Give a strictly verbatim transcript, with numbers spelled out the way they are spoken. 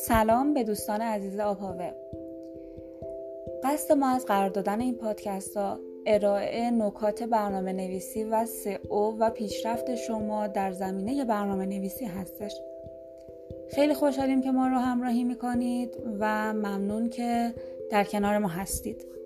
سلام به دوستان عزیز آب‌هاوه. قصد ما از قرار دادن این پادکست ها ارائه نکات برنامه نویسی و سئو و پیشرفت شما در زمینه برنامه نویسی هستش. خیلی خوشحالیم که ما رو همراهی میکنید و ممنون که در کنار ما هستید.